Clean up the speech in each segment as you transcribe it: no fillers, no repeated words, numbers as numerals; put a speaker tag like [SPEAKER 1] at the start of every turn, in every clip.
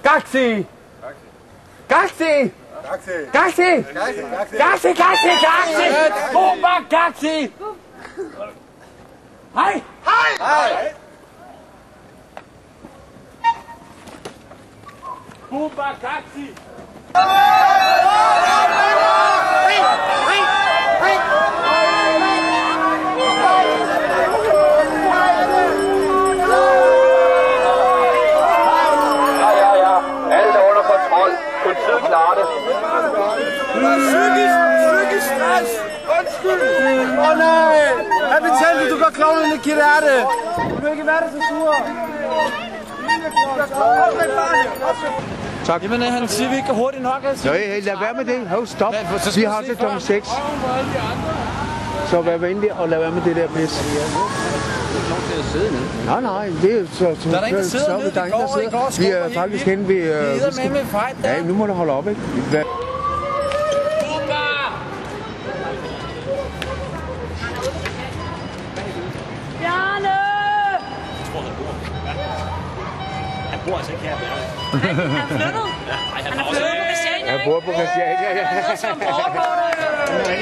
[SPEAKER 1] Gaxi! Gaxi! Gaxi! Gaxi! Gaxi! Bomba Gaxi! Hej! Hej! Bomba Gaxi!
[SPEAKER 2] Politiet klarer det.
[SPEAKER 3] Psykisk stress! Undskyld! Åh nej! Jeg betalte, du gør klovnen i kirate! Du vil ikke være der så sur!
[SPEAKER 1] Tak. Jamen, han siger, vi ikke går hurtigt nok.
[SPEAKER 4] Nej, lad være med det. Hov, stop. Vi har det kl. 6. Så vær venlig og lad være med det der pis. Nej, nej, det er så...
[SPEAKER 1] Der er der ingen, der sidder nede.
[SPEAKER 4] Der er ingen, der sidder. Vi er faktisk hen ved...
[SPEAKER 1] Vi er med fejl der.
[SPEAKER 4] Ja, nu må du holde op, ikke?
[SPEAKER 5] Bjarne!
[SPEAKER 6] Jeg tror, han bor. Han bor altså ikke her, Bjarne.
[SPEAKER 5] Han er flyttet?
[SPEAKER 6] Ja,
[SPEAKER 5] Han er flyttet på Christiania,
[SPEAKER 4] Jeg bor på Christiania, ja.
[SPEAKER 5] Han er som Bjarne!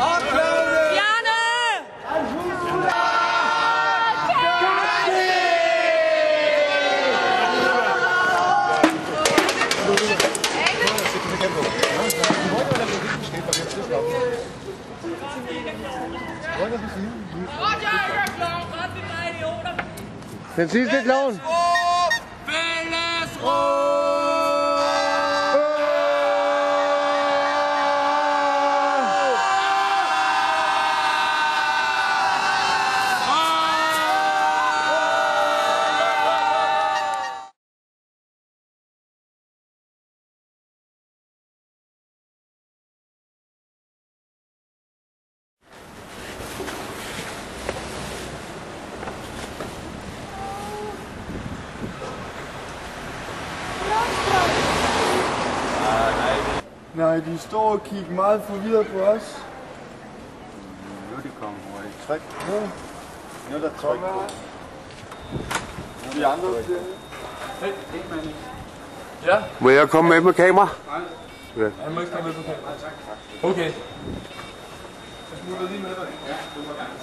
[SPEAKER 4] Den sidste klovn.
[SPEAKER 3] Nej, de står og kigger meget forvirret på os.
[SPEAKER 4] Nu er det kommet hurtigt.
[SPEAKER 3] Tryk. Nu er der tryk på. De andre siger det.
[SPEAKER 1] Ja.
[SPEAKER 4] Må jeg komme med på kamera?
[SPEAKER 1] Nej. Ja. Han må ikke komme med på kamera. Okay. Jeg smutter lige med dig. Ja, du må gerne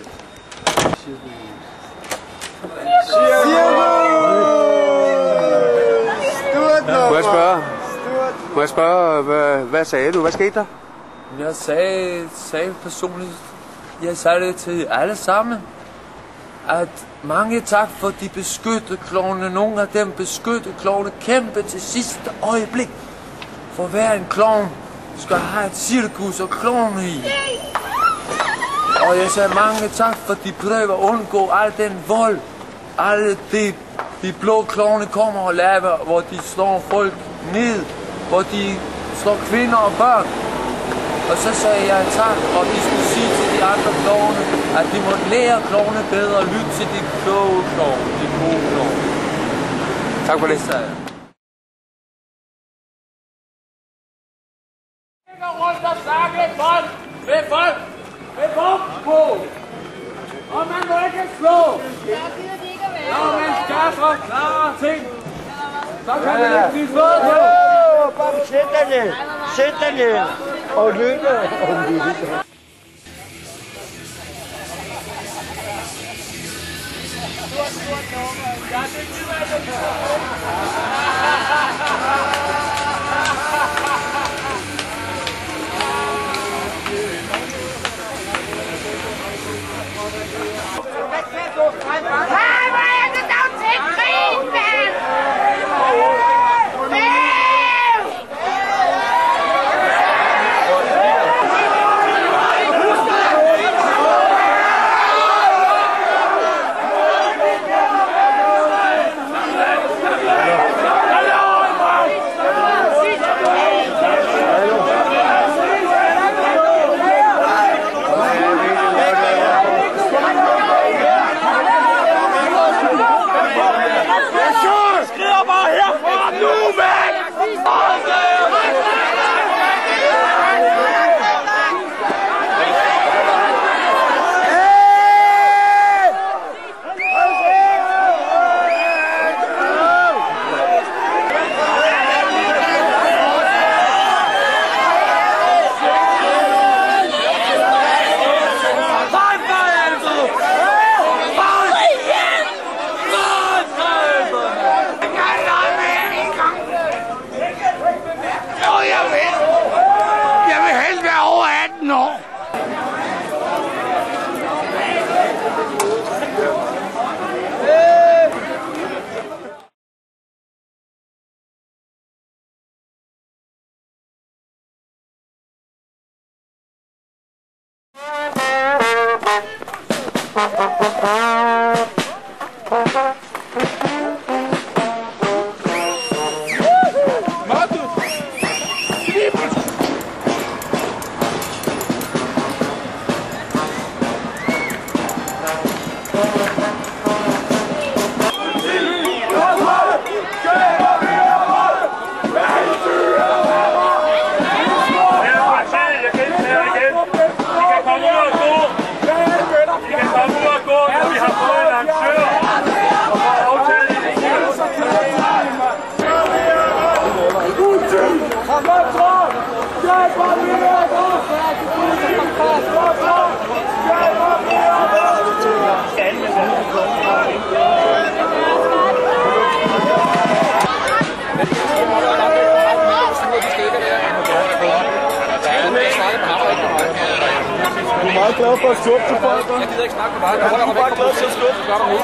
[SPEAKER 4] Må jeg spørge, hvad sagde du? Hvad skete der?
[SPEAKER 1] Jeg sagde personligt, jeg sagde det til alle sammen, at mange tak for de beskyttede klovne. Nogle af dem beskyttede klovne kæmpe til sidste øjeblik. For hver en klovn skal have et cirkus og klovne i. Og jeg sagde mange tak for de prøver at undgå al den vold. Alle de blå klovne kommer og laver, hvor de slår folk ned. Hvor de slår kvinder og børn. Og så sagde jeg tak, og de skulle sige til de andre klovne, at de måtte lære klovne bedre og lytte til de kloge klovne, de gode klovne.
[SPEAKER 4] Tak for det.
[SPEAKER 1] Jeg går rundt og snakke med folk med våben på. Og man må ikke slå. Når man skaffer klare ting, så kan det ikke blive slået på.
[SPEAKER 3] Bare sæt dig ned. Og lytte. Du er meget glad for at skubbe til folk, hva'? Jeg gider ikke snakke med dig. Du er bare glad for at skubbe. Gør du nu?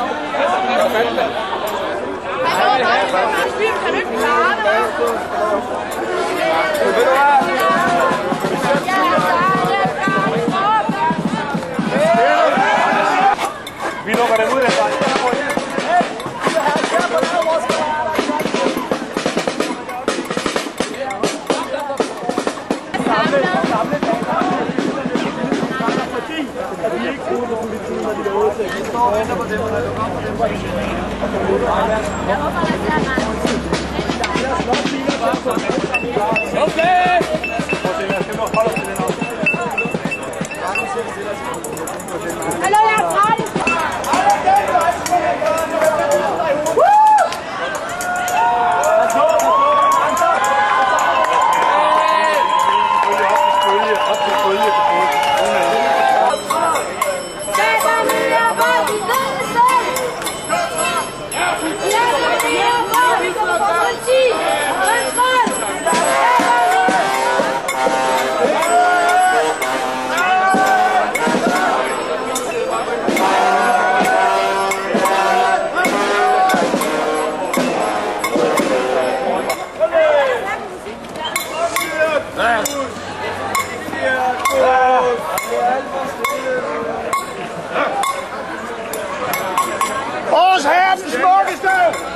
[SPEAKER 5] Kan du ikke klare det, hva'?
[SPEAKER 3] Ved du hvad? Vi lukker dem ud af dig.
[SPEAKER 5] Hallo, jeg er træt.
[SPEAKER 3] Vores herre, den smukkeste!